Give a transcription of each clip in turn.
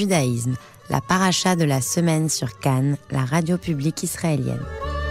judaïsme, la paracha de la semaine sur Cannes, la radio publique israélienne.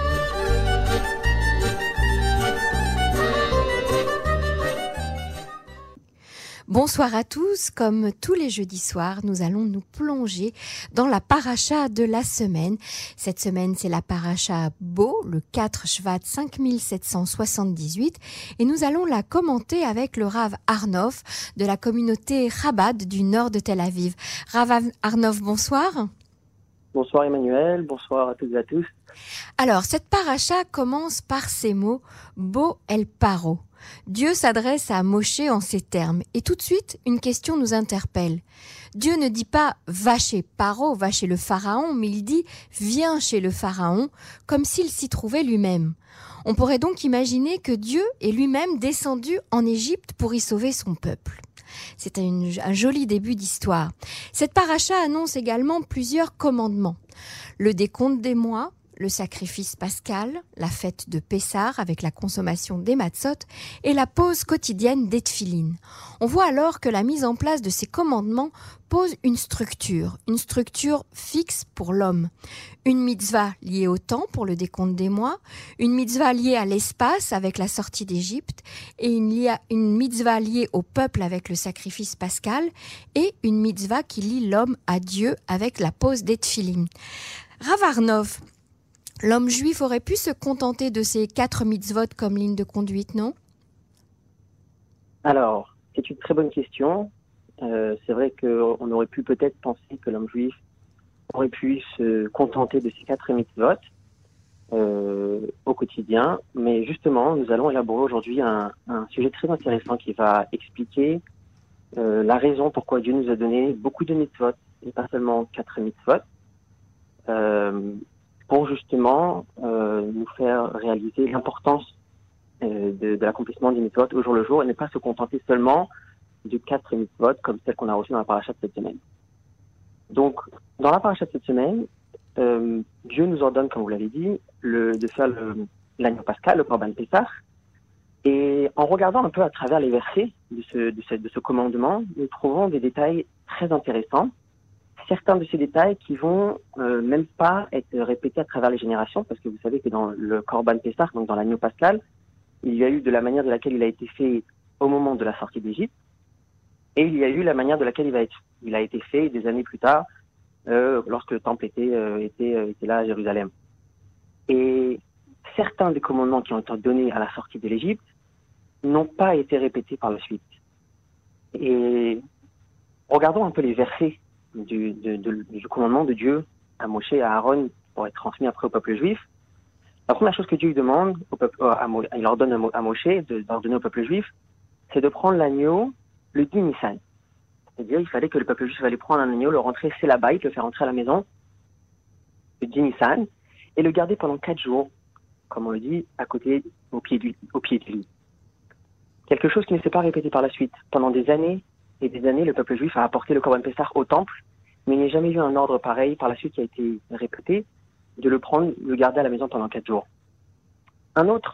Bonsoir à tous, comme tous les jeudis soirs, nous allons nous plonger dans la paracha de la semaine. Cette semaine, c'est la paracha Bo, le 4 Shvat 5778, et nous allons la commenter avec le Rav Arnov de la communauté Chabad du nord de Tel Aviv. Rav Arnov, bonsoir. Bonsoir Emmanuel, bonsoir à toutes et à tous. Alors, cette paracha commence par ces mots « Bo el paro ». Dieu s'adresse à Moshe en ces termes. Et tout de suite, une question nous interpelle. Dieu ne dit pas « va chez Paro, va chez le Pharaon », mais il dit « viens chez le Pharaon », comme s'il s'y trouvait lui-même. On pourrait donc imaginer que Dieu est lui-même descendu en Égypte pour y sauver son peuple. C'est un joli début d'histoire. Cette paracha annonce également plusieurs commandements. Le décompte des mois, le sacrifice pascal, la fête de Pessah avec la consommation des matzot et la pause quotidienne des tfilines. On voit alors que la mise en place de ces commandements pose une structure fixe pour l'homme. Une mitzvah liée au temps pour le décompte des mois, une mitzvah liée à l'espace avec la sortie d'Égypte et une mitzvah liée au peuple avec le sacrifice pascal et une mitzvah qui lie l'homme à Dieu avec la pause des tfilines. Rav Arnov, l'homme juif aurait pu se contenter de ces 4 mitzvot comme ligne de conduite, non? Alors, c'est une très bonne question. C'est vrai qu'on aurait pu peut-être penser que l'homme juif aurait pu se contenter de ces 4 mitzvot au quotidien. Mais justement, nous allons élaborer aujourd'hui un sujet très intéressant qui va expliquer la raison pourquoi Dieu nous a donné beaucoup de mitzvot, et pas seulement 4 mitzvot. Pour justement nous faire réaliser l'importance de l'accomplissement des mitzvot au jour le jour et ne pas se contenter seulement de 4 mitzvot comme celle qu'on a reçue dans la paracha de cette semaine. Donc, dans la paracha de cette semaine, Dieu nous ordonne, comme vous l'avez dit, de faire l'agneau pascal, le korban Pessah. Et en regardant un peu à travers les versets de ce commandement, nous trouvons des détails très intéressants. Certains de ces détails qui vont même pas être répétés à travers les générations, parce que vous savez que dans le Korban Pessah, donc dans l'agneau pascal, il y a eu de la manière de laquelle il a été fait au moment de la sortie d'Égypte, et il y a eu la manière de laquelle il a été fait des années plus tard, lorsque le temple était là à Jérusalem. Et certains des commandements qui ont été donnés à la sortie de l'Égypte n'ont pas été répétés par la suite. Et regardons un peu les versets du commandement de Dieu à Moshe et à Aaron pour être transmis après au peuple juif. La première chose que Dieu demande il ordonne à Moshe d'ordonner au peuple juif, c'est de prendre l'agneau le 10 Nissan. C'est-à-dire, il fallait que le peuple juif allait prendre un agneau, le rentrer c'est là-bas, le faire rentrer à la maison le 10 Nissan et le garder pendant 4 jours, comme on le dit, au pied du lit. Quelque chose qui ne s'est pas répété par la suite. Pendant des années et des années, le peuple juif a apporté le Korban Pessah au temple, mais il n'y a jamais eu un ordre pareil par la suite qui a été répété, de le prendre, le garder à la maison pendant 4 jours. Un autre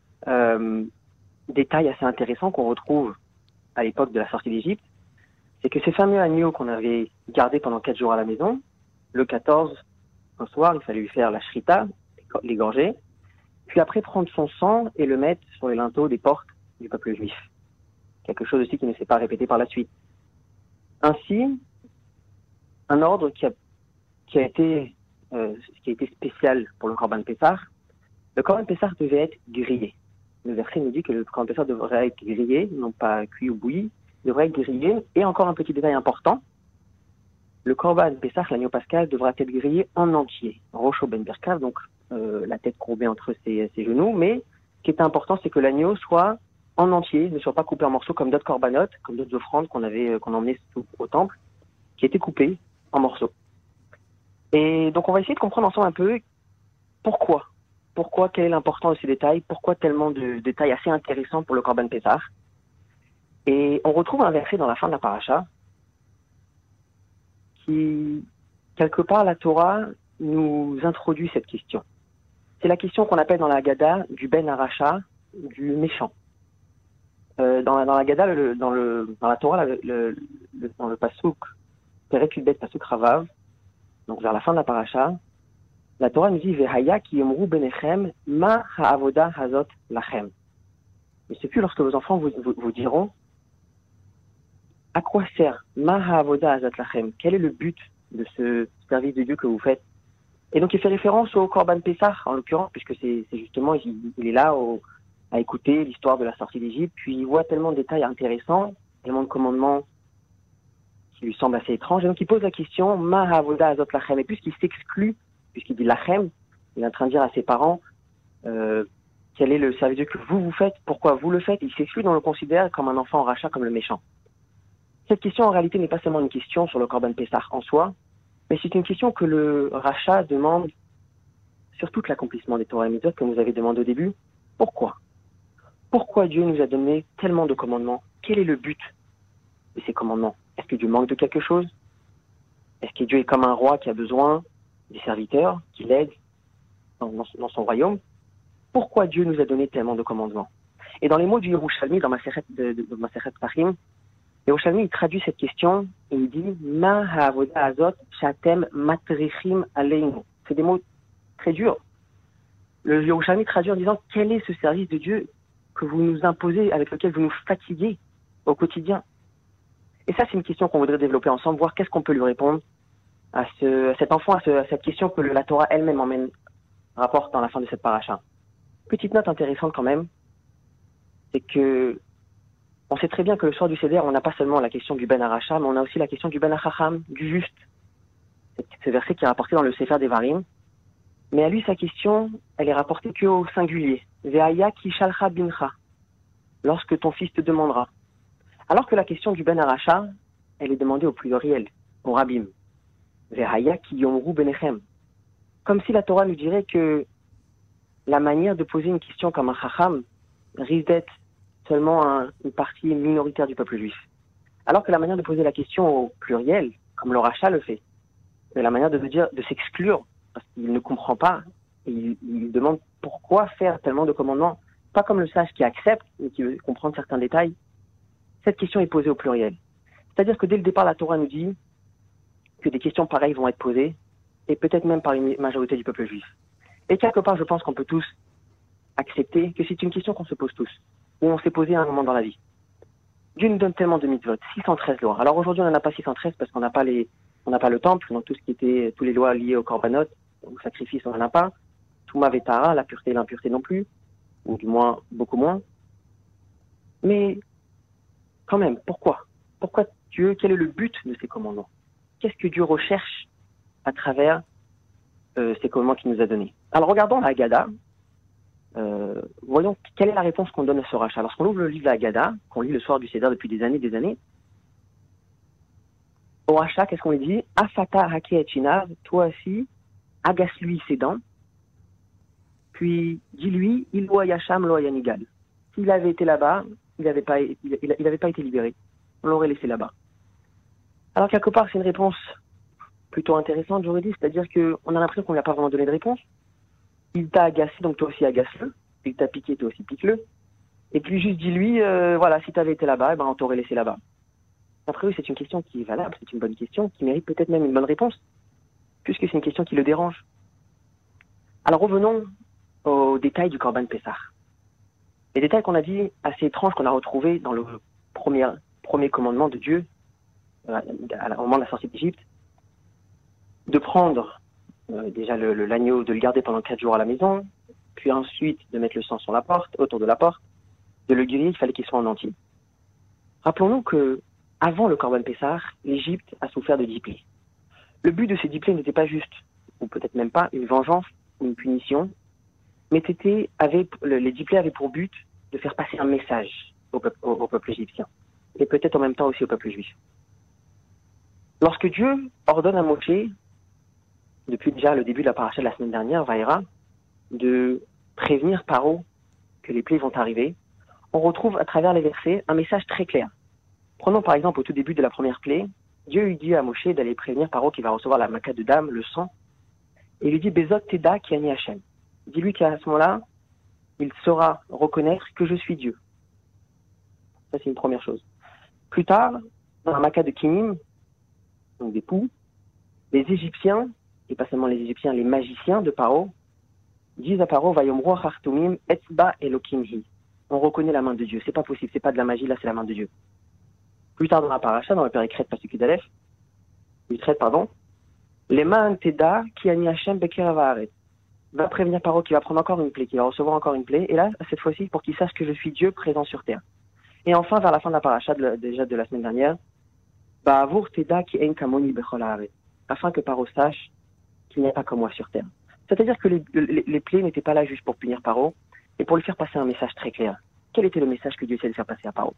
détail assez intéressant qu'on retrouve à l'époque de la sortie d'Égypte, c'est que ces fameux agneaux qu'on avait gardés pendant 4 jours à la maison, le 14, un soir, il fallait lui faire la shrita, l'égorger, puis après prendre son sang et le mettre sur les linteaux des portes du peuple juif. Quelque chose aussi qui ne s'est pas répété par la suite. Ainsi, un ordre qui a été spécial pour le Korban Pessah. Le Korban Pessah devait être grillé. Le verset nous dit que le Korban Pessah devrait être grillé, non pas cuit ou bouilli, devrait être grillé. Et encore un petit détail important, le Korban Pessah, l'agneau pascal, devra être grillé en entier. Rocho ben Birkav, donc la tête courbée entre ses genoux. Mais ce qui est important, c'est que l'agneau soit en entier, ne soit pas coupé en morceaux comme d'autres corbanotes, comme d'autres offrandes qu'on emmenait au temple, qui étaient coupées en morceaux. Et donc on va essayer de comprendre ensemble un peu pourquoi, quelle est l'importance de ces détails, pourquoi tellement de détails assez intéressants pour le Korban Pessah. Et on retrouve un verset dans la fin de la paracha qui, quelque part, la Torah nous introduit cette question. C'est la question qu'on appelle dans la Haggadah du Ben Aracha, du méchant. Dans la Haggadah, dans la Torah, dans le pasouk Perek Yudbet Pasuk Ravav, donc vers la fin de la paracha, la Torah nous dit Vehaya ki yomru benechem ma ha'avoda hazot lachem. Mais c'est plus lorsque vos enfants vous diront à quoi sert ma ha'avoda hazot lachem. Quel est le but de ce service de Dieu que vous faites? Et donc il fait référence au Korban Pessah, en l'occurrence, puisque c'est justement, il est là à écouter l'histoire de la sortie d'Égypte, puis il voit tellement de détails intéressants, tellement de commandements qui lui semblent assez étranges, et donc il pose la question, Ma ha'avoda hazot lachem, et puisqu'il s'exclut, puisqu'il dit lachem, il est en train de dire à ses parents, quel est le service de Dieu que vous faites, pourquoi vous le faites, il s'exclut, on le considère comme un enfant en rachat, comme le méchant. Cette question, en réalité, n'est pas seulement une question sur le Korban Pessah en soi, mais c'est une question que le rachat demande sur tout l'accomplissement des Torah et Mitzvot, comme vous avez demandé au début. Pourquoi? Pourquoi Dieu nous a donné tellement de commandements? Quel est le but de ces commandements? Est-ce que Dieu manque de quelque chose? Est-ce que Dieu est comme un roi qui a besoin des serviteurs, qui l'aident dans son royaume? Pourquoi Dieu nous a donné tellement de commandements? Et dans les mots du Yerushalmi, dans Masechet Pachim, Yerushalmi, il traduit cette question et il dit Ma ha'avoda hazot shatem matrichim aleinu. C'est des mots très durs. Le Yerushalmi traduit en disant quel est ce service de Dieu que vous nous imposez, avec lequel vous nous fatiguez au quotidien? Et ça, c'est une question qu'on voudrait développer ensemble, voir qu'est-ce qu'on peut lui répondre à cet enfant, à cette question que la Torah elle-même rapporte dans la fin de cette paracha. Petite note intéressante quand même, c'est que on sait très bien que le soir du Seder, on n'a pas seulement la question du Ben Aracha, mais on a aussi la question du Ben Achacham, du juste. Ce verset qui est rapporté dans le Sefer Devarim. Mais à lui, sa question, elle est rapportée qu'au singulier. Ve'aya ki shalcha bincha. Lorsque ton fils te demandera. Alors que la question du Ben Aracha, elle est demandée au pluriel, au Rabbim. Ve'aya ki yomru benechem. Comme si la Torah nous dirait que la manière de poser une question comme un Chacham risque d'être seulement une partie minoritaire du peuple juif. Alors que la manière de poser la question au pluriel, comme le rachat le fait, c'est la manière de s'exclure, parce qu'il ne comprend pas, et il demande pourquoi faire tellement de commandements, pas comme le sage qui accepte, mais qui veut comprendre certains détails. Cette question est posée au pluriel. C'est-à-dire que dès le départ, la Torah nous dit que des questions pareilles vont être posées, et peut-être même par une majorité du peuple juif. Et quelque part, je pense qu'on peut tous accepter que c'est une question qu'on se pose tous, où on s'est posé à un moment dans la vie. Dieu nous donne tellement de mitzvot, 613 lois. Alors aujourd'hui, on n'en a pas 613 parce qu'on n'a pas le temple, donc tous les lois liées au korbanot, au sacrifice, on n'en a pas. Touma vetara, la pureté et l'impureté non plus, ou du moins, beaucoup moins. Mais, quand même, pourquoi? Pourquoi Dieu, quel est le but de ces commandements? Qu'est-ce que Dieu recherche à travers ces commandements qu'il nous a donnés? Alors regardons la Haggadah. Voyons quelle est la réponse qu'on donne à ce rachat. Lorsqu'on ouvre le livre de la Haggadah, qu'on lit le soir du Seder depuis des années, au rachat, qu'est-ce qu'on lui dit? Afata hake et chinav, toi aussi, agace-lui ses dents, puis dis-lui, il loa yacham loa yanigal. S'il avait été là-bas, il n'avait pas été libéré. On l'aurait laissé là-bas. Alors quelque part, c'est une réponse plutôt intéressante, j'aurais dit, c'est-à-dire qu'on a l'impression qu'on ne lui a pas vraiment donné de réponse. Il t'a agacé, donc toi aussi agace-le. Il t'a piqué, toi aussi pique-le. Et puis juste dis-lui, voilà, si tu avais été là-bas, on t'aurait laissé là-bas. Après oui, c'est une question qui est valable, c'est une bonne question, qui mérite peut-être même une bonne réponse, puisque c'est une question qui le dérange. Alors revenons aux détails du Korban Pessah. Les détails qu'on a dit, assez étranges, qu'on a retrouvés dans le premier commandement de Dieu, au moment de la sortie d'Égypte, de prendre déjà l'agneau, de le garder pendant 4 jours à la maison, puis ensuite de mettre le sang sur la porte, autour de la porte, de le griller, il fallait qu'il soit en entier. Rappelons-nous que avant le Korban Pessah, l'Égypte a souffert de 10 plaies. Le but de ces 10 plaies n'était pas juste, ou peut-être même pas, une vengeance ou une punition, mais les 10 plaies avaient pour but de faire passer un message au peuple égyptien, et peut-être en même temps aussi au peuple juif. Lorsque Dieu ordonne à Moshe, depuis déjà le début de la paracha de la semaine dernière, Vaïra, de prévenir Paro que les plaies vont arriver, on retrouve à travers les versets un message très clair. Prenons par exemple au tout début de la première plaie, Dieu lui dit à Moshe d'aller prévenir Paro qui va recevoir la maca de dame, le sang, et il lui dit Bezot Teda ki ani Hashem. Dis-lui qu'à ce moment-là, il saura reconnaître que je suis Dieu. Ça c'est une première chose. Plus tard, dans la maca de Kinim, donc des poux, les Égyptiens, et pas seulement les Égyptiens, les magiciens de Paro, disent à Paro, Vayomro Hartumim Etzba Elokimhi. On reconnaît la main de Dieu. C'est pas possible, c'est pas de la magie, là c'est la main de Dieu. Plus tard dans la paracha, dans le Péricrète Pasuk Yud-Aleph, les mains Teda qui ani Hashem Bekerav Haaretz. Va prévenir Paro qui va prendre encore une plaie, qui va recevoir encore une plaie, et là, cette fois-ci, pour qu'il sache que je suis Dieu présent sur terre. Et enfin, vers la fin de la paracha, déjà de la semaine dernière, Ba'avour Teda ki ein kamoni bechol haaretz. Afin que Paro sache qu'il n'y a pas comme moi sur terre. C'est-à-dire que les plaies n'étaient pas là juste pour punir Paro, et pour lui faire passer un message très clair. Quel était le message que Dieu essayait de faire passer à Paro?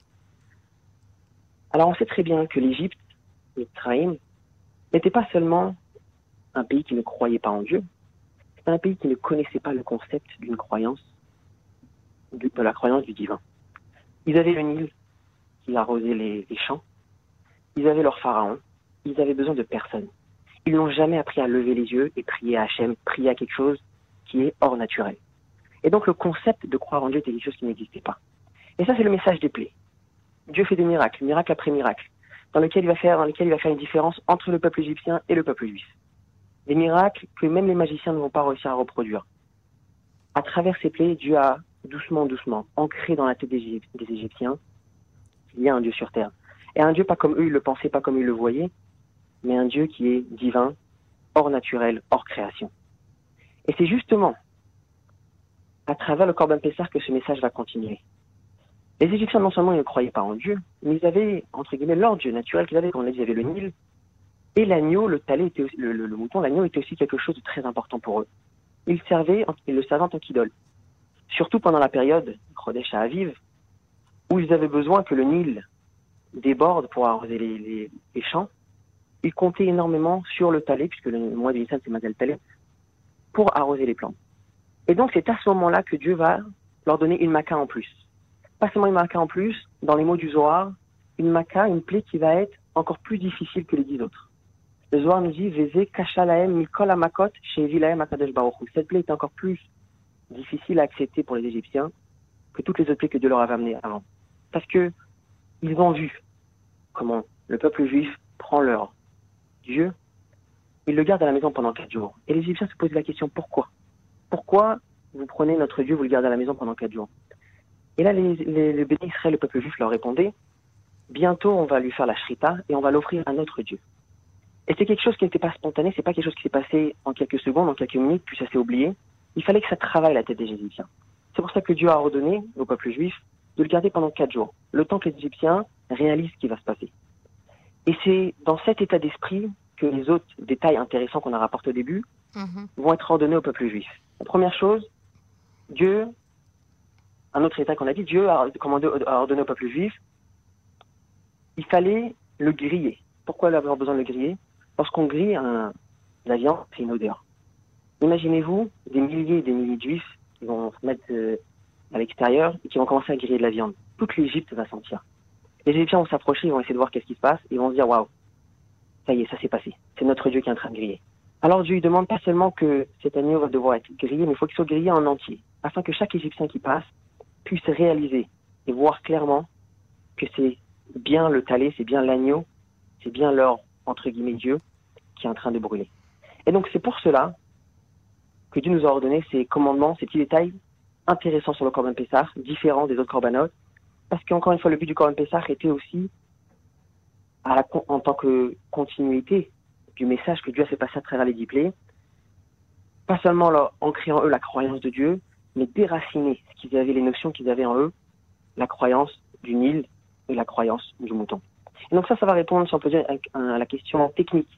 Alors on sait très bien que l'Égypte, Mitzrayim, n'était pas seulement un pays qui ne croyait pas en Dieu, c'était un pays qui ne connaissait pas le concept d'une croyance, de la croyance du divin. Ils avaient le Nil qui arrosait les champs, ils avaient leur pharaon, ils avaient besoin de personne. Ils n'ont jamais appris à lever les yeux et prier à Hachem, prier à quelque chose qui est hors naturel. Et donc le concept de croire en Dieu était quelque chose qui n'existait pas. Et ça c'est le message des plaies. Dieu fait des miracles, miracle après miracle, dans lesquels il va faire une différence entre le peuple égyptien et le peuple juif. Des miracles que même les magiciens ne vont pas réussir à reproduire. À travers ces plaies, Dieu a doucement, ancré dans la tête des Égyptiens qu'il y a un Dieu sur terre. Et un Dieu pas comme eux, ils le pensaient, pas comme ils le voyaient, mais un Dieu qui est divin, hors naturel, hors création. Et c'est justement à travers le Corban Pessah que ce message va continuer. Les Égyptiens, non seulement ils ne croyaient pas en Dieu, mais ils avaient, entre guillemets, leur Dieu naturel qu'ils avaient, comme on l'a dit, ils avaient le Nil, et l'agneau, le talé, était aussi, le mouton, l'agneau était aussi quelque chose de très important pour eux. Ils le servaient en tant qu'idole. Surtout pendant la période, Chodesh Ha'aviv, où ils avaient besoin que le Nil déborde pour arroser les champs. Ils comptaient énormément sur le talé, puisque le mois de Nissan c'est Mazel Talé, pour arroser les plantes. Et donc c'est à ce moment-là que Dieu va leur donner une maca en plus. Pas seulement une maca en plus, dans les mots du Zohar, une maca, une plaie qui va être encore plus difficile que les 10 autres. Le Zohar nous dit, Veze kasha lahem mikol hamakot shehevi lahem hakadosh baruch hu. Cette plaie est encore plus difficile à accepter pour les Égyptiens que toutes les autres plaies que Dieu leur avait amenées avant. Parce que ils ont vu comment le peuple juif prend leur Dieu, il le garde à la maison pendant 4 jours. Et les Égyptiens se posaient la question, pourquoi? Pourquoi vous prenez notre Dieu, vous le gardez à la maison pendant 4 jours? Et là, les bénis Israël, le peuple juif, leur répondait, bientôt on va lui faire la shrita et on va l'offrir à notre Dieu. Et c'est quelque chose qui n'était pas spontané, c'est pas quelque chose qui s'est passé en quelques secondes, en quelques minutes, puis ça s'est oublié. Il fallait que ça travaille la tête des Égyptiens. C'est pour ça que Dieu a ordonné au peuple juif de le garder pendant 4 jours, le temps que les Égyptiens réalisent ce qui va se passer. Et c'est dans cet état d'esprit que les autres détails intéressants qu'on a rapportés au début vont être ordonnés au peuple juif. La première chose, Dieu, un autre état qu'on a dit, Dieu a ordonné au peuple juif, il fallait le griller. Pourquoi avoir besoin de le griller? Lorsqu'on grille la viande, c'est une odeur. Imaginez-vous des milliers et des milliers de juifs qui vont se mettre à l'extérieur et qui vont commencer à griller de la viande. Toute l'Égypte va sentir. Les Égyptiens vont s'approcher, ils vont essayer de voir qu'est-ce qui se passe, et ils vont se dire, waouh, ça y est, ça s'est passé. C'est notre Dieu qui est en train de griller. Alors Dieu, il demande pas seulement que cet agneau va devoir être grillé, mais il faut qu'il soit grillé en entier, afin que chaque Égyptien qui passe puisse réaliser et voir clairement que c'est bien le talé, c'est bien l'agneau, c'est bien leur, entre guillemets, Dieu qui est en train de brûler. Et donc c'est pour cela que Dieu nous a ordonné ces commandements, ces petits détails intéressants sur le Corban Pessah, différents des autres corbanotes, parce qu'encore une fois, le but du Corban Pessah était aussi, en tant que continuité du message que Dieu a fait passer à travers les 10 plaies, pas seulement en créant en eux la croyance de Dieu, mais déraciner ce qu'ils avaient, les notions qu'ils avaient en eux, la croyance du Nil et la croyance du mouton. Et donc ça va répondre, si on peut dire, à la question technique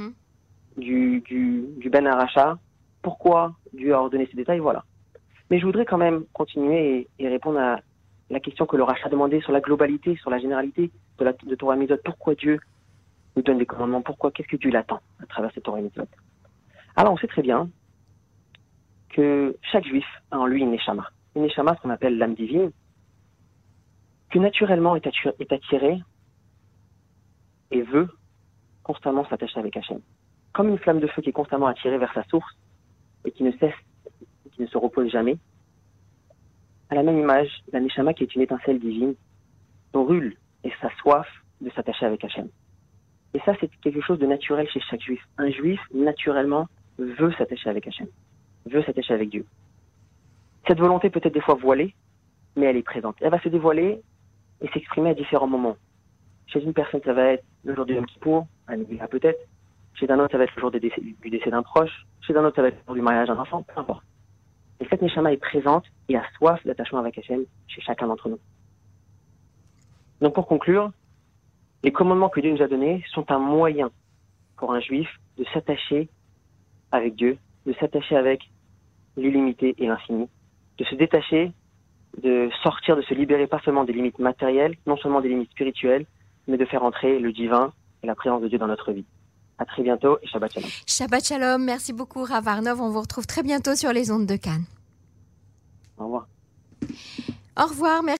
du Ben Aracha. Pourquoi Dieu a ordonné ces détails, voilà. Mais je voudrais quand même continuer et répondre à la question que le Racha demandait sur la globalité, sur la généralité de Torah et Mitzvot. Pourquoi Dieu nous donne des commandements? Pourquoi? Qu'est-ce que Dieu l'attend à travers cette Torah et Mitzvot? Alors on sait très bien que chaque juif a en lui une neshama. Une neshama, ce qu'on appelle l'âme divine, que naturellement est attirée et veut constamment s'attacher avec Hachem. Comme une flamme de feu qui est constamment attirée vers sa source et qui ne cesse, qui ne se repose jamais. À la même image, la neshama qui est une étincelle divine brûle et sa soif de s'attacher avec Hachem. Et ça, c'est quelque chose de naturel chez chaque juif. Un juif, naturellement, veut s'attacher avec Hachem, veut s'attacher avec Dieu. Cette volonté peut être des fois voilée, mais elle est présente. Elle va se dévoiler et s'exprimer à différents moments. Chez une personne, ça va être le jour du Yom Kippour, à Nivila peut-être. Chez un autre, ça va être le jour du décès d'un proche. Chez un autre, ça va être le jour du mariage d'un enfant, peu importe. Et cette Neshama est présente et a soif d'attachement avec Hachem chez chacun d'entre nous. Donc pour conclure, les commandements que Dieu nous a donnés sont un moyen pour un juif de s'attacher avec Dieu, de s'attacher avec l'illimité et l'infini, de se détacher, de sortir, de se libérer pas seulement des limites matérielles, non seulement des limites spirituelles, mais de faire entrer le divin et la présence de Dieu dans notre vie. À très bientôt et Shabbat Shalom. Shabbat Shalom, merci beaucoup Rav Arnov, on vous retrouve très bientôt sur les ondes de Cannes. Au revoir. Au revoir, merci.